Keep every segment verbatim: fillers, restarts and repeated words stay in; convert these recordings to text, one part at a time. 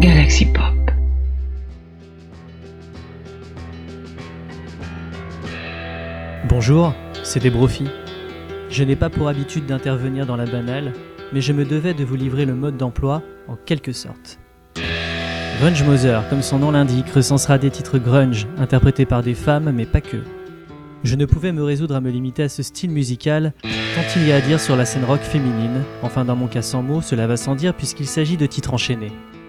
Galaxy Pop. Bonjour, c'est Débrofi. Je n'ai pas pour habitude d'intervenir dans la banale, mais je me devais de vous livrer le mode d'emploi en quelque sorte. Grunge Mother, comme son nom l'indique, recensera des titres grunge, interprétés par des femmes, mais pas que. Je ne pouvais me résoudre à me limiter à ce style musical, tant il y a à dire sur la scène rock féminine. Enfin, dans mon cas sans mots, cela va sans dire puisqu'il s'agit de titres enchaînés.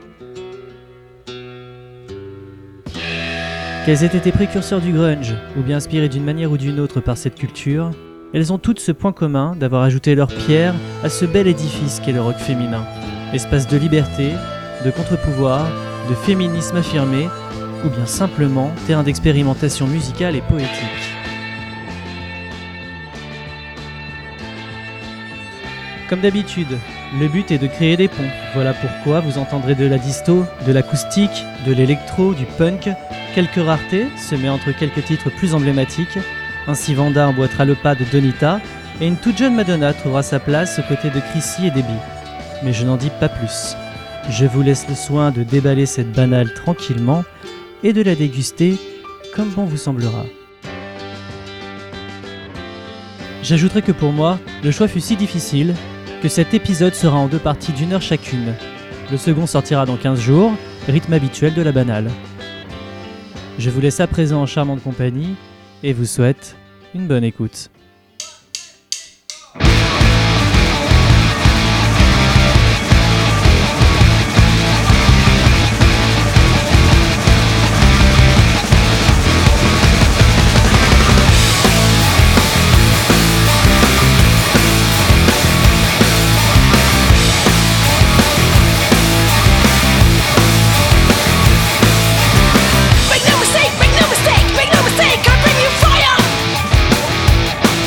Qu'elles aient été précurseurs du grunge, ou bien inspirées d'une manière ou d'une autre par cette culture, elles ont toutes ce point commun d'avoir ajouté leur pierre à ce bel édifice qu'est le rock féminin. Espace de liberté, de contre-pouvoir, de féminisme affirmé, ou bien simplement terrain d'expérimentation musicale et poétique. Comme d'habitude, le but est de créer des ponts. Voilà pourquoi vous entendrez de la disto, de l'acoustique, de l'électro, du punk, quelques raretés, semées entre quelques titres plus emblématiques. Ainsi Vanda emboîtera le pas de Donita, et une toute jeune Madonna trouvera sa place aux côtés de Chrissy et Debbie. Mais je n'en dis pas plus. Je vous laisse le soin de déballer cette banale tranquillement et de la déguster comme bon vous semblera. J'ajouterai que pour moi, le choix fut si difficile que cet épisode sera en deux parties d'une heure chacune. Le second sortira dans quinze jours, rythme habituel de la banale. Je vous laisse à présent en charmante compagnie et vous souhaite une bonne écoute. Make no mistake, make no mistake, make no mistake, I bring you fire!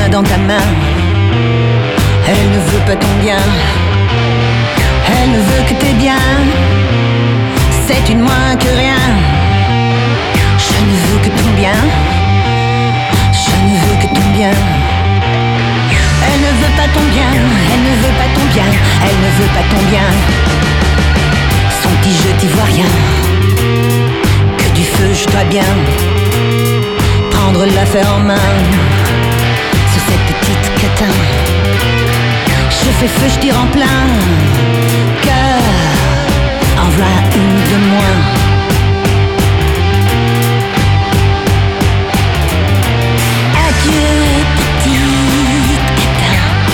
dans ta main. Elle ne veut pas ton bien, elle ne veut que tes biens. C'est une moins que rien. Je ne veux que ton bien, je ne veux que ton bien. Elle ne veut pas ton bien, elle ne veut pas ton bien, elle ne veut pas ton bien. Son petit jeu d'ivoirien, que du feu je dois bien prendre l'affaire en main. Sur cette petite catin, je fais feu, je tire en plein cœur. En voilà une de moins. Adieu, petite catin.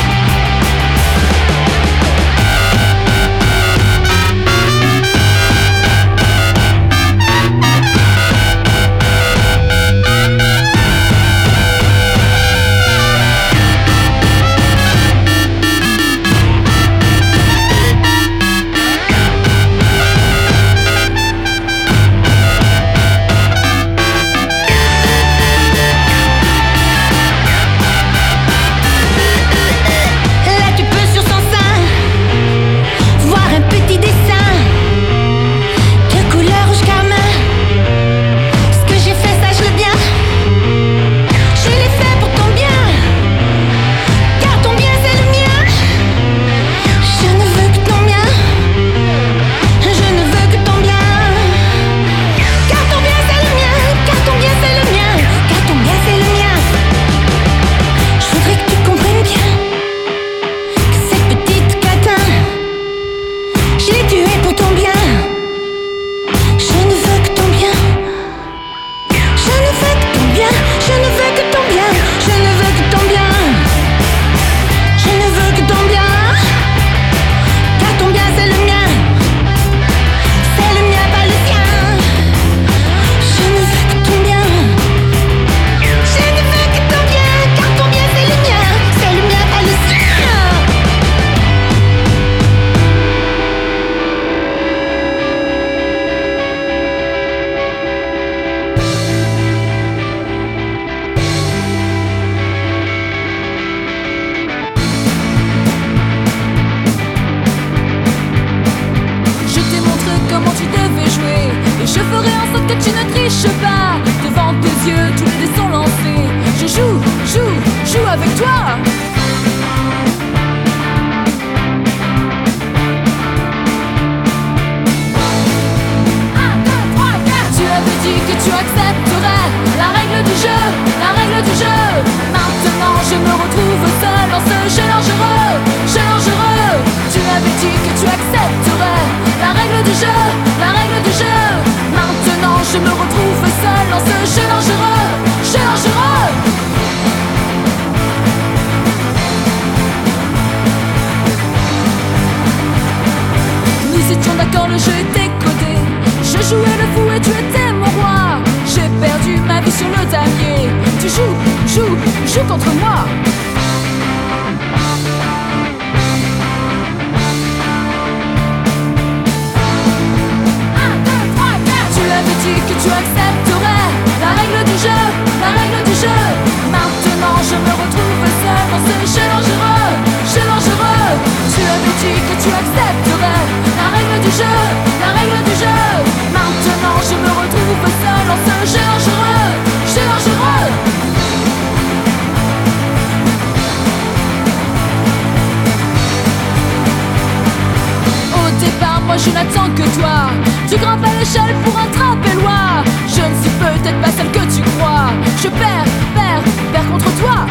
Je n'attends que toi. Tu grimpes à l'échelle pour attraper loi. Je ne suis peut-être pas celle que tu crois. Je perds, perds, perds contre toi.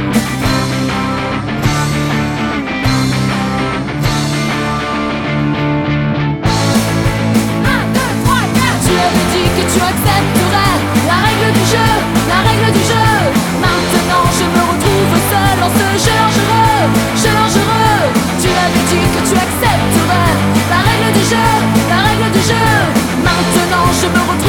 Un, deux, trois, quatre. Tu avais dit que tu accepterais la règle du jeu, la règle du jeu. Maintenant je me retrouve seul en ce jeu dangereux, jeu dangereux. Tu avais dit que tu accepterais la règle du jeu, la règle du jeu. Maintenant je me retrouve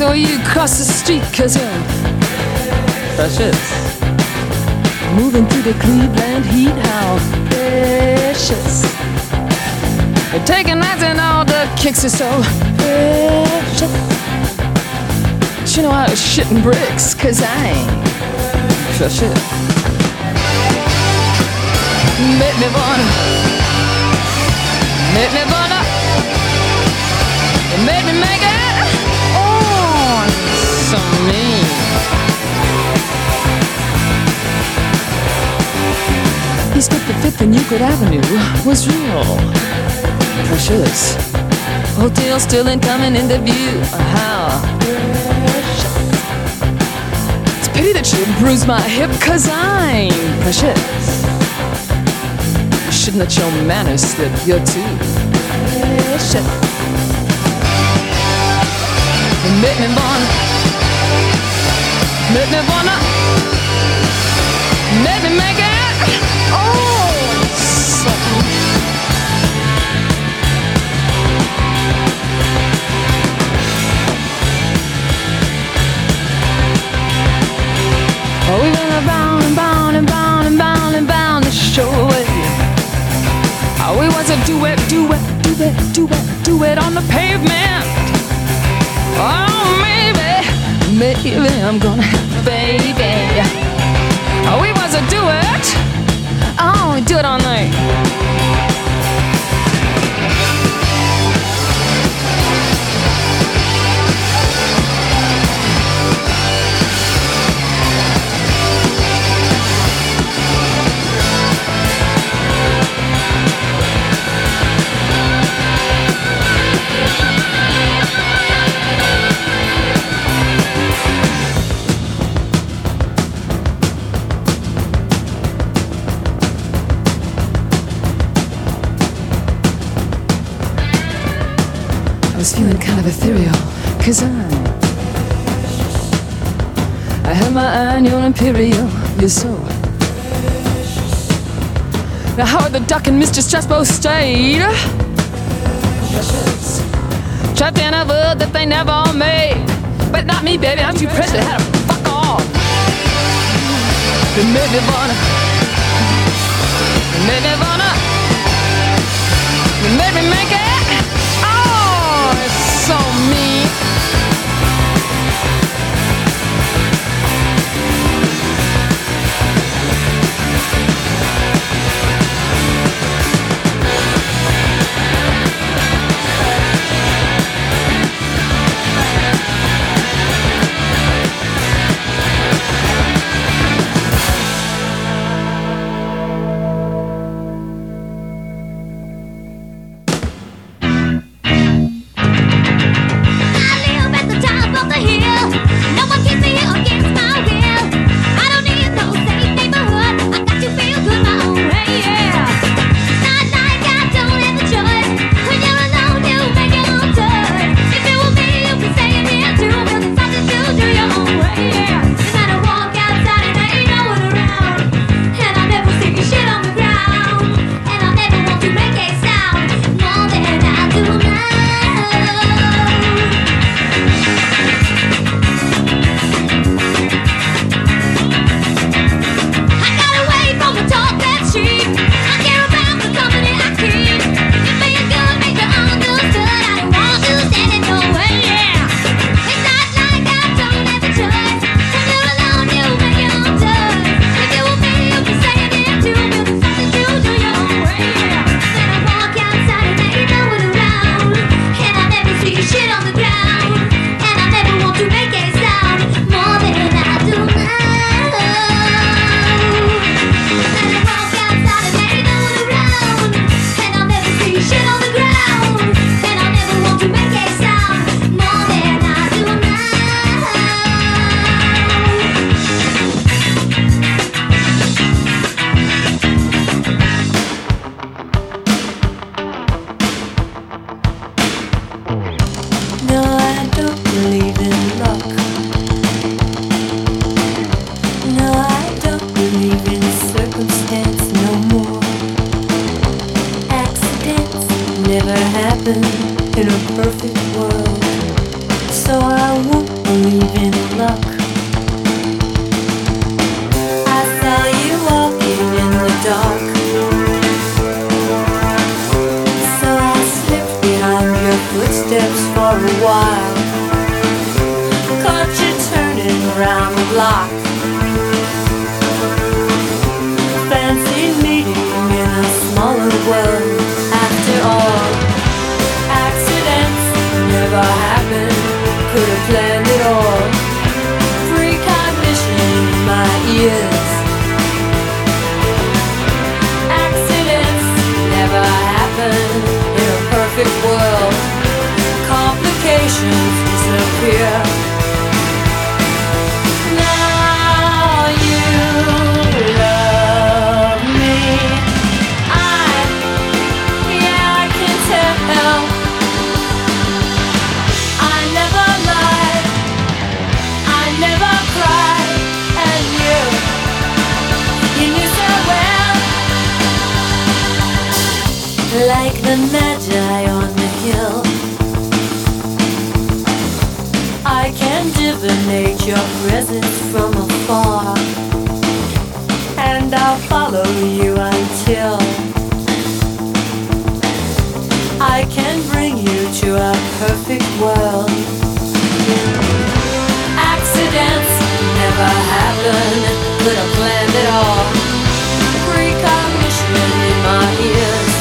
the way you cross the street, cause you're precious. Moving through the Cleveland heat, how precious. You're taking nights and all the kicks are so precious. But you know I was shitting bricks, cause I ain't precious. Make me wanna, make me wanna, make me make it, oh, so mean. He skipped the Fifth and Euclid Avenue, was real precious. Hotel still ain't coming into view, how precious. It's a pity that you bruised my hip, cause I'm precious. Shouldn't let your manners slip, you're too precious. Make me wanna, make me wanna, make me make it, oh, something. Oh, we went around and bound and bound and bound and bound the show away. Oh, we was a duet, duet, duet, duet, duet on the pavement. Oh, maybe, maybe I'm gonna have a baby. Oh, we was a duet. Oh, we do it all night. I was feeling kind of ethereal, cause I I had my eye on your imperial, you're so. Now Howard the Duck and Mister Strasbow stayed trapped in a world that they never made. But not me, baby, I'm too precious, I had to fuck off. It made me wanna, it made me wanna, it made me make it. So mean. never happen in a perfect world. so I won't believe in luck. I saw you walking in the dark, so I slipped behind your footsteps for a while. Caught you turning around the block. Fancy meeting in a smaller world. After all, accidents never happen. Could have planned it all. Precognition in my ears. Accidents never happen in a perfect world. Complications disappear. Now you love me. I, yeah, I can tell. I never lied, I never cried, and you, you knew so well. Like the Magi on the hill, I can divinate your presence from afar, and I'll follow you until I can bring you to a perfect world. Accidents never happen, could have planned it all. Precognition in my ears.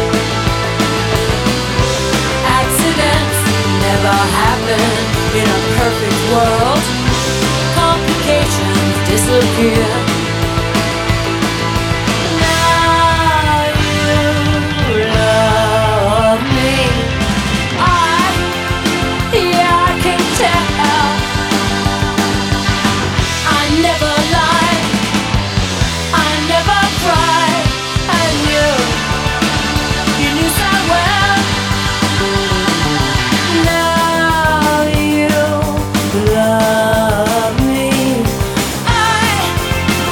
Accidents never happen in a perfect world. Complications disappear. Now you love me. I, yeah, I can tell. I never lied, I never cried, and you, you knew so well. Now you love me. I,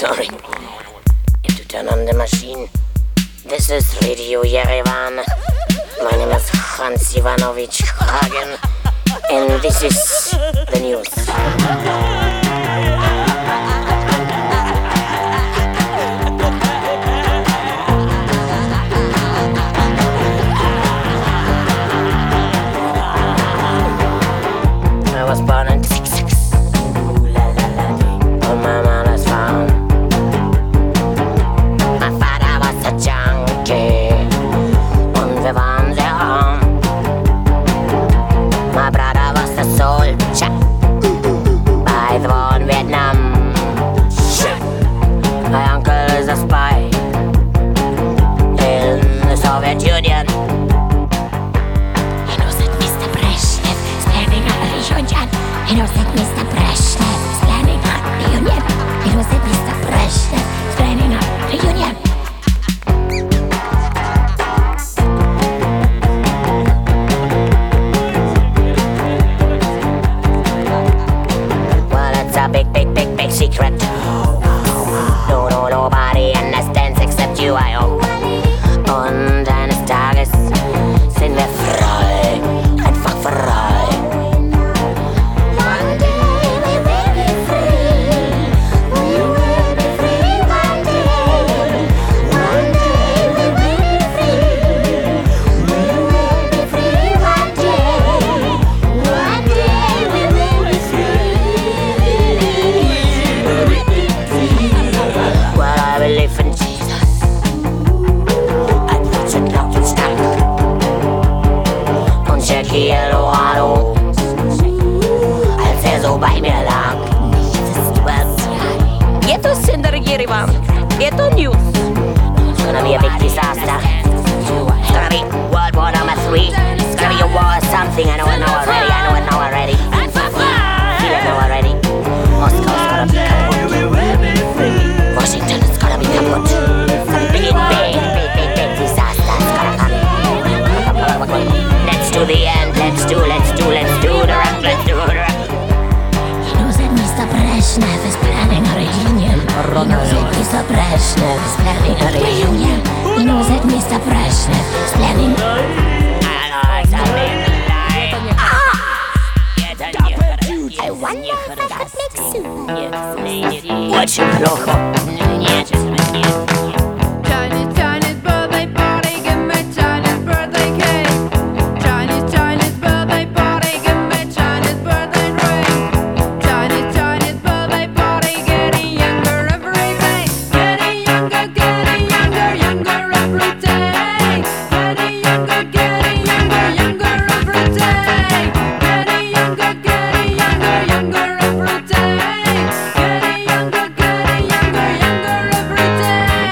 Sorry. You have to turn on the machine. This is Radio Yerevan. My name is Hans Ivanovich Hagen, and this is the news. I was born in sixty-six on my mother's farm. My father was a junkie und wir waren sehr arm. My brother was a soldier by the war in Vietnam. My uncle is a spy in the Soviet Union. He knows that Mister Brezhnev is planning a reunion. He knows that Mister Brezhnev is planning a reunion. He knows that Mister Brezhnev is planning a reunion. Well, it's a big, big, big, big secret. No, no, nobody understands except you, I hope. Und eines Tages sind wir frei, einfach frei. One day we will be free. We will be free one day. One day we will be free. We will be free one day. One day we will be free. Well, I believe in Jesus. I preach it loud and stark. Und Jackie Eldorado, als er so bei mir lag. Get us in the Yerevan. Get on news. It's gonna be a big disaster. It's gonna be World War number three. It's gonna be a war or something. I know it now already. I know it now already. Feel it now already. Moscow's gonna be kaputt. Washington is gonna be kaputt. Big, big, big, big, big disaster. It's gonna come. Let's do the end. Let's do, let's do, let's do the rock. Let's do the rock. He knows that Mister Brezhnev is planning a reunion. He knows that Mister Brezhnev is planning a reunion. He knows that Mister Brezhnev is planning. I wonder if I could make soup. Очень плохо. Chinese, Chinese birthday party, give me Chinese birthday cake. Chinese, Chinese birthday party, give me Chinese birthday drink. Chinese, Chinese birthday party, getting younger every day. Getting younger, getting younger, younger every day. Getting younger, getting younger, younger every day. Getting younger, getting younger, younger every day. Getting younger, getting younger, younger every day.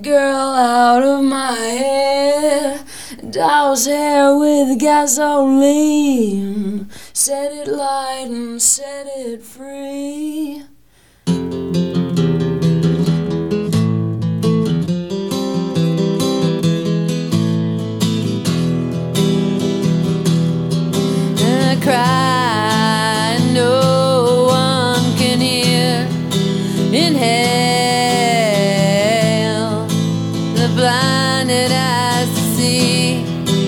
girl out of my head. Douse hair with gasoline. Set it light and set it free. And I cry, no one can hear. In hell, the blinded eyes to see.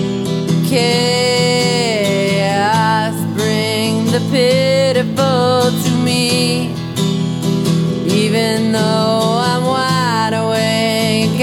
Chaos bring the pitiful to me. Even though I'm wide awake,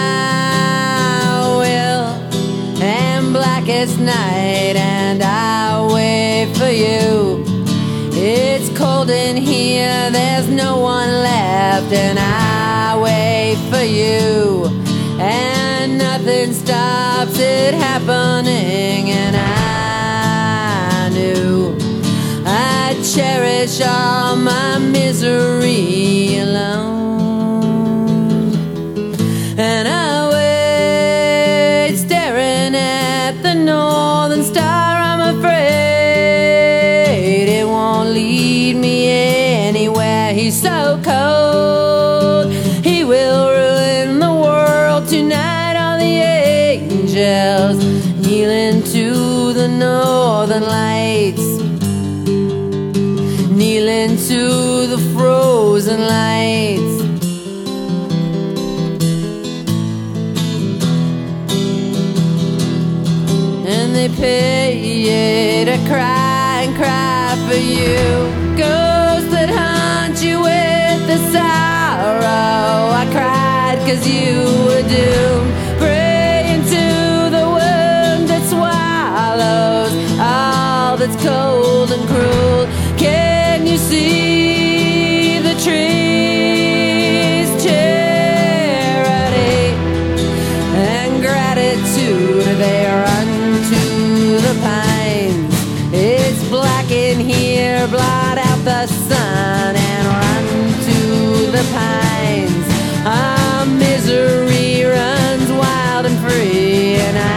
I will. And black as night, and I wait for you. It's cold in here, there's no one left, and I wait for you. And nothing stops it happening, and I knew I'd cherish all my misery alone. And I wait, staring at the northern star. I'm afraid it won't lead me anywhere. He's so cold, he will ruin the world tonight. All the angels kneeling to the northern lights, kneeling to the frozen lights. And they pay to cry and cry for you. Ghosts that haunt you with the sorrow. I cried cause you were doomed. Praying to the wound that swallows all that's cold and cruel. Can you see the trees? Charity and gratitude, they run to the pines. It's black in here, blot out the sun and run to the pines. Our misery runs wild and free, and I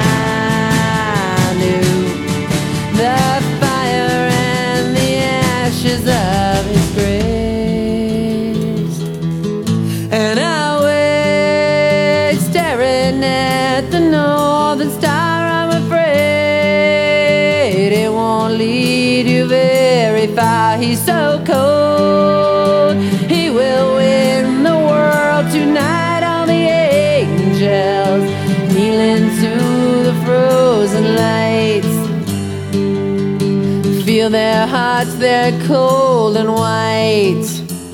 knew the fire and the ashes of his grace. And I wait, staring at the northern star. I'm afraid it won't lead you very far. He's so cold, he will win the world tonight. All the angels kneeling to the frozen lights. Feel their hearts, they're cold and white.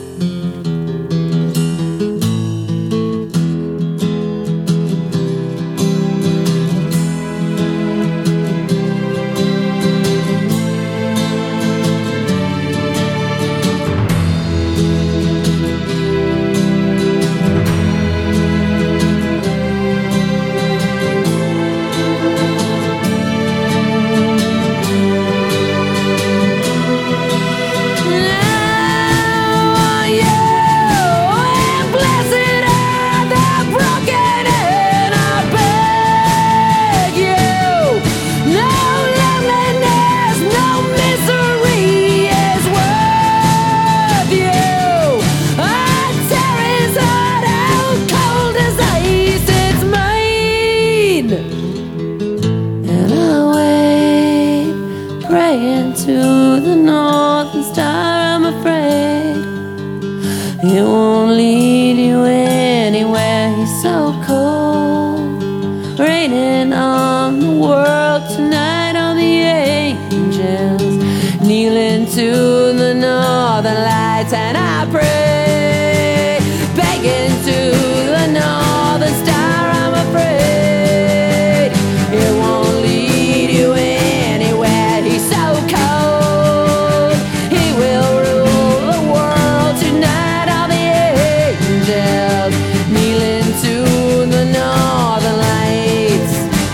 To the northern star, I'm afraid it won't lead you anywhere. He's so cold, raining on the world tonight. All the angels kneeling to the northern lights, and I pray, begging to the northern star. I'm afraid it won't lead you anywhere. He's so cold, he will rule the world tonight. All the angels kneeling to the northern lights,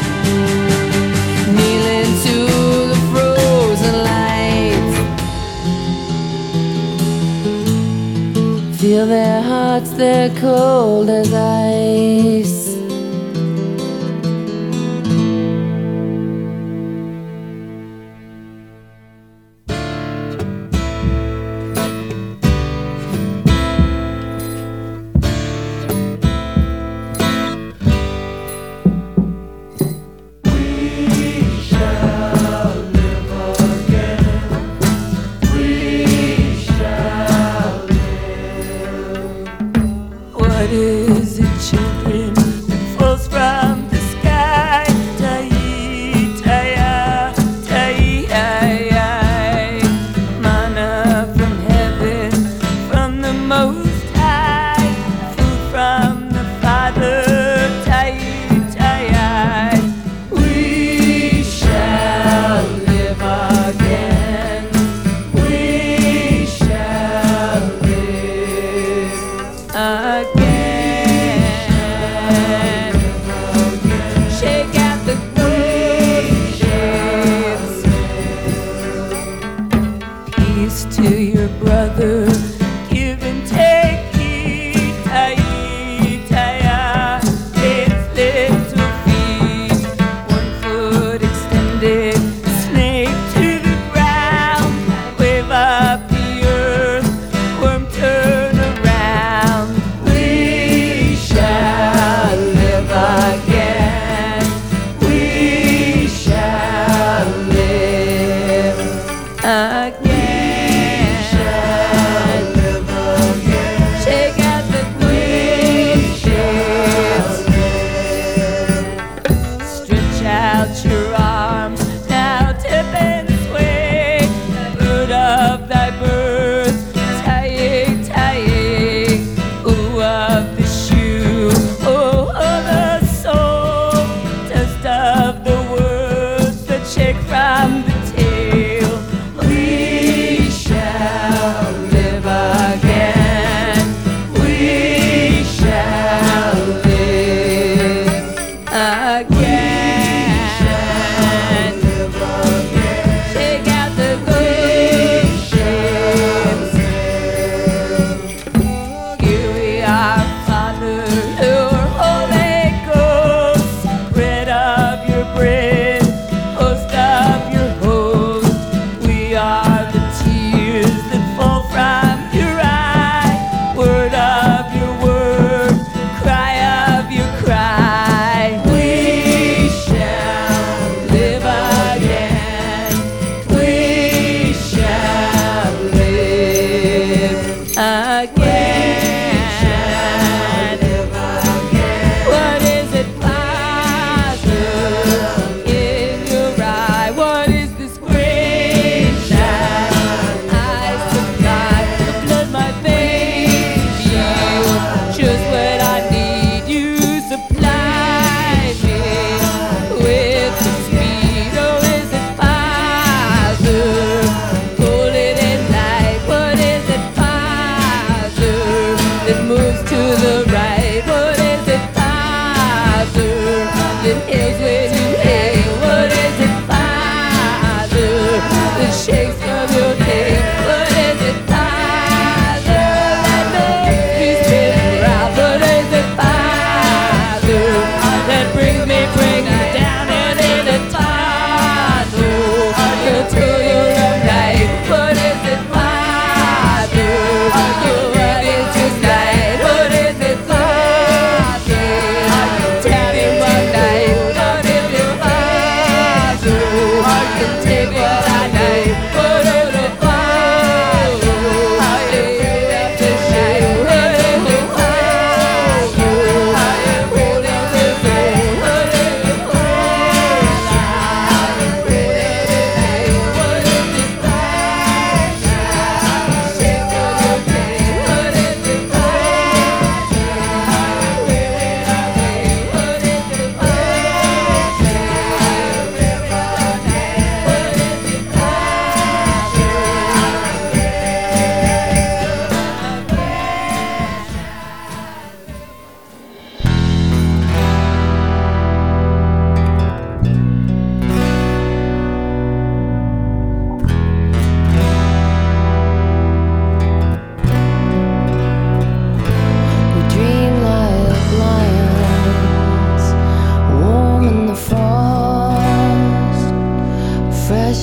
kneeling to the frozen lights. Feel their hearts, they're cold as ice. What is it, children, that falls from the sky? Tai, tai, tai, manna from heaven, from the Most High, food from the Father. Tai, tai, we shall live again. We shall live again. Shake out the ghost ships. Peace to your brother. Give and take. Tai, tai, its little feet, one foot extended, snake to the ground. Wave up the earth, worm turn around. We shall live again. We shall live again. We shall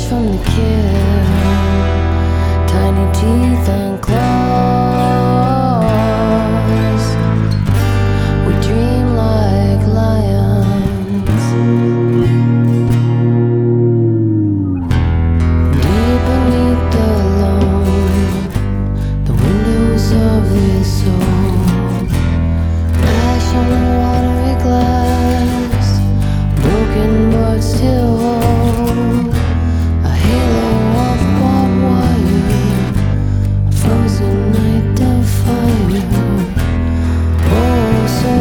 fresh from the kill, tiny teeth and claws. We dream like lions, deep beneath the lawn, the windows of this soul. Ash on the watery glass, broken but still whole. A halo of barbed wire, a frozen night of fire. Oh, so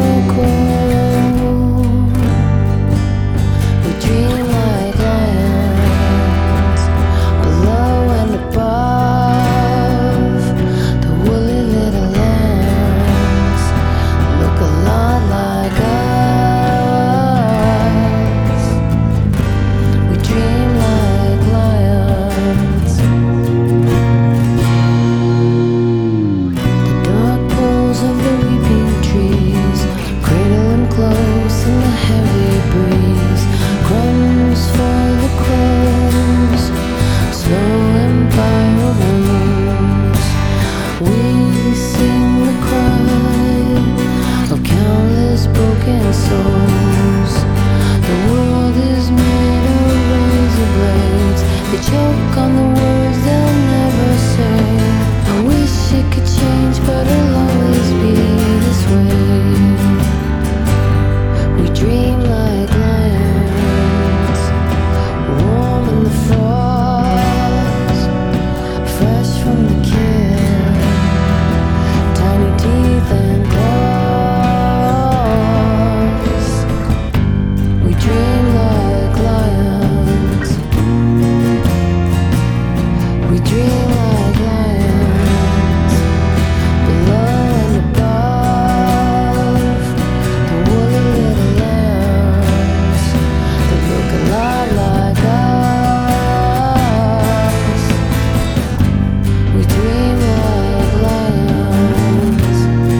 cold. We dream like lions, below and above. The woolly little lambs look a lot like us. We dream like lions. The dark poles of the weeping trees cradle them close in the heavy breeze. Crumbs for the crows, slow empire wounds. We sing the cry of countless broken souls. The world is made of razor blades. They choke on the words they'll never say. I wish it could change, but it'll always be this way. We dream like lions, warm in the frost, fresh from the kill, tiny teeth and claws. We dream like lions. We dream like lions, below and above. The woolly little lambs that look a lot like us. We dream like lions.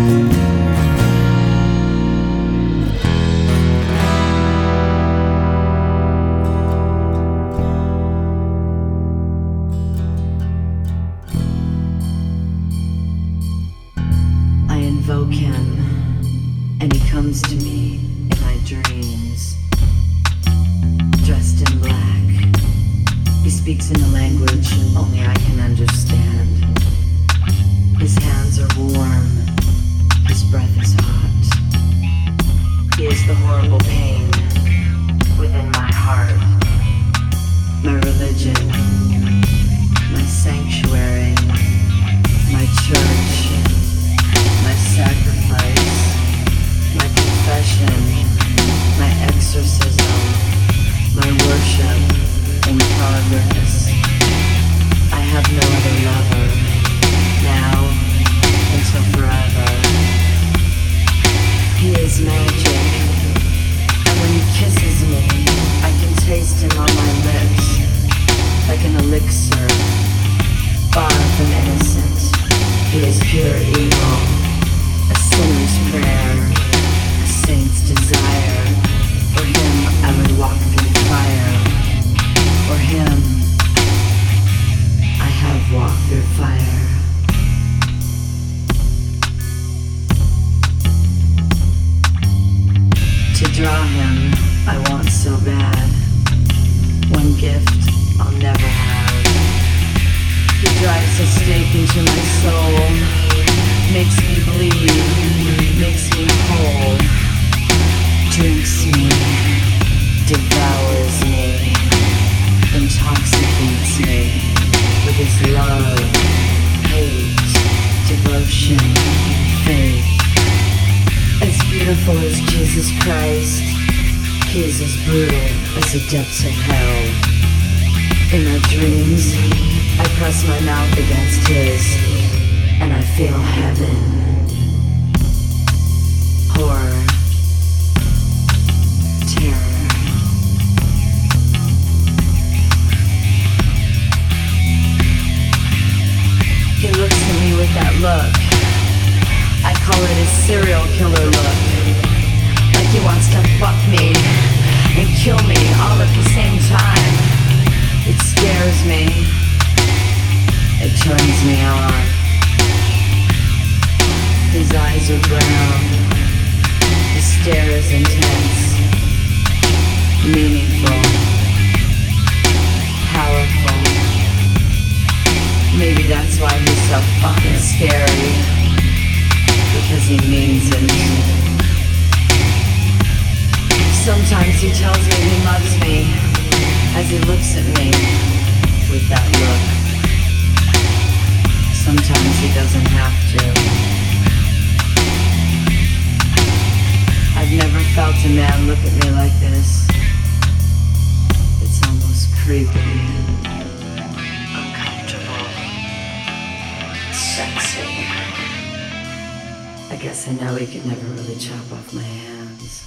I invoke him, and he comes to me in my dreams, dressed in black. He speaks in a language only I can understand. His hands are warm, his breath is hot. He is the horrible pain within my heart, my religion, my sanctuary, my church, my sacrifice, my confession, my exorcism, my worship in progress. I have no other lover, now until forever. He is magic, and when he kisses me, I can taste him on my lips, like an elixir, far from innocent. He is pure evil, a sinner's prayer, a saint's desire. For him I would walk through fire. For him I have walked through fire. To draw him I want so bad. One gift I'll never have. He drives a stake into my soul, makes me bleed, makes me whole, drinks me, devours me, intoxicates me with his love, hate, devotion, faith. As beautiful as Jesus Christ, he is as brutal as the depths of hell. In my dreams, I press my mouth against his, and I feel heaven. Horror. Terror. He looks at me with that look. I call it his serial killer look. Like he wants to fuck me and kill me all at the same time. It bothers me. It turns me on. His eyes are brown. His stare is intense. Meaningful. Powerful. Maybe that's why he's so fucking scary. Because he means it. Sometimes he tells me he loves me as he looks at me with that look. Sometimes he doesn't have to. I've never felt a man look at me like this. It's almost creepy. Uncomfortable. Sexy. I guess I know he could never really chop off my hands.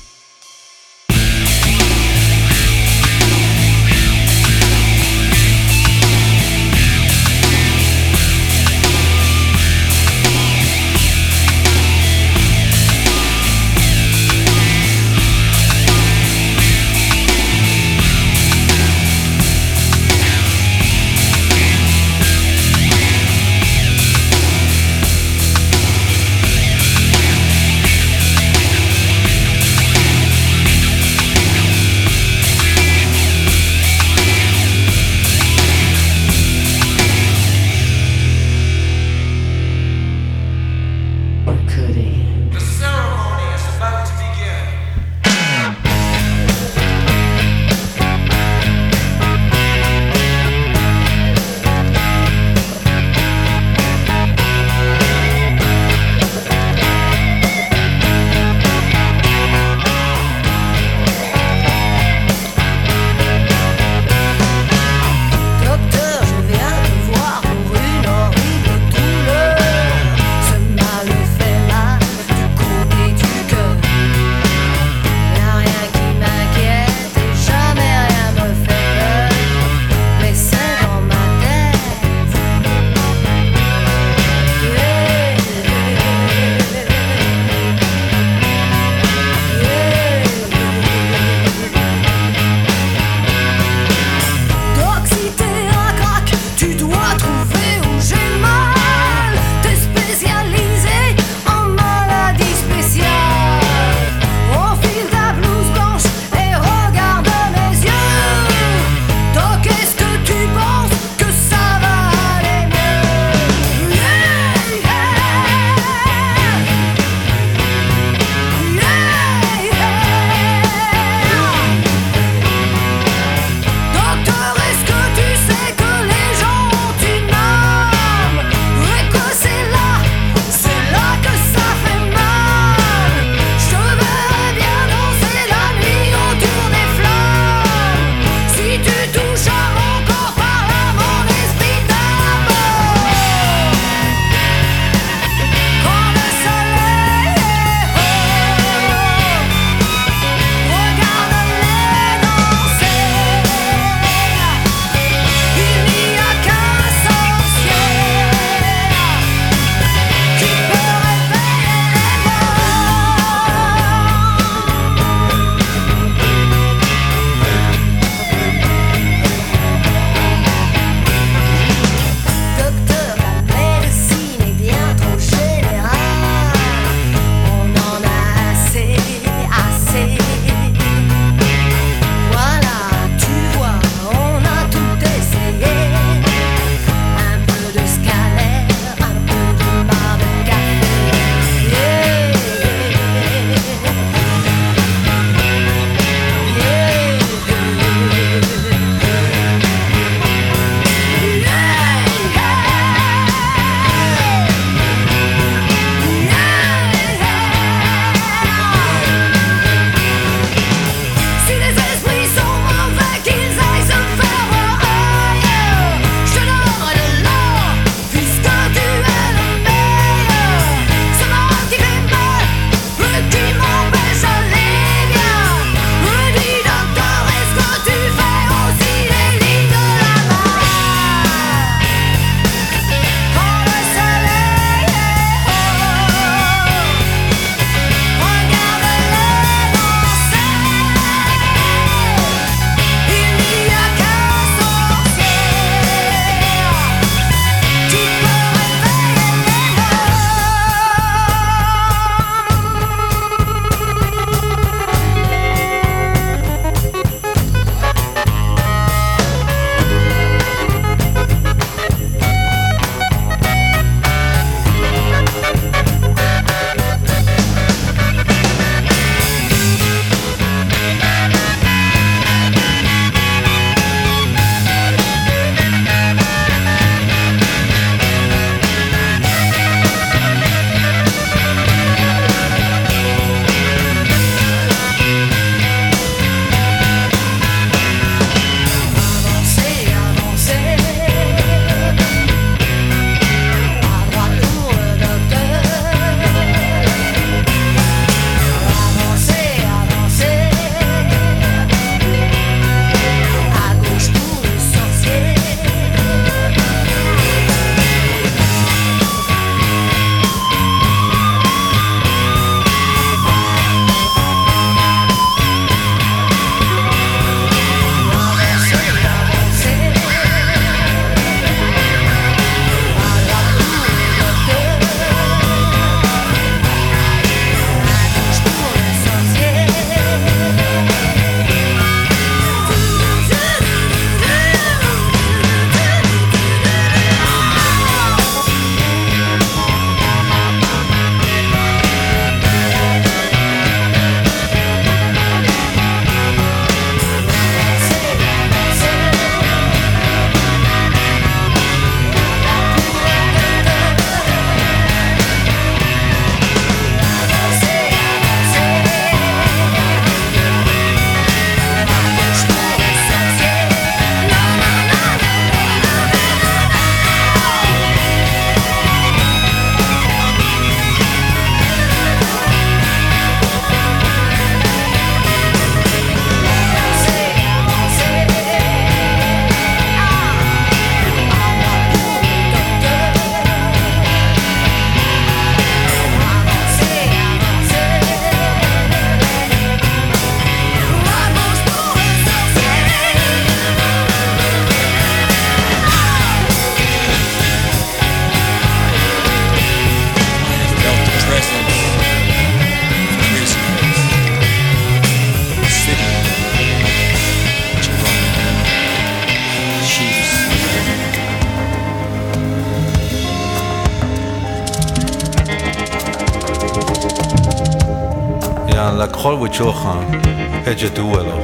לכל וצ'וך, הג'דו אלו.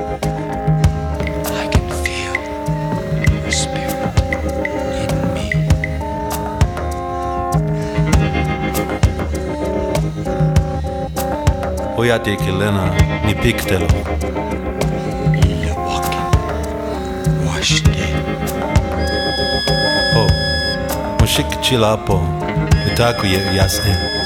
I can feel your spirit in me. Oyate kilena ni piktelo. Le walking, washed in. Oh, mushik chilapo, mitaku ye yasen.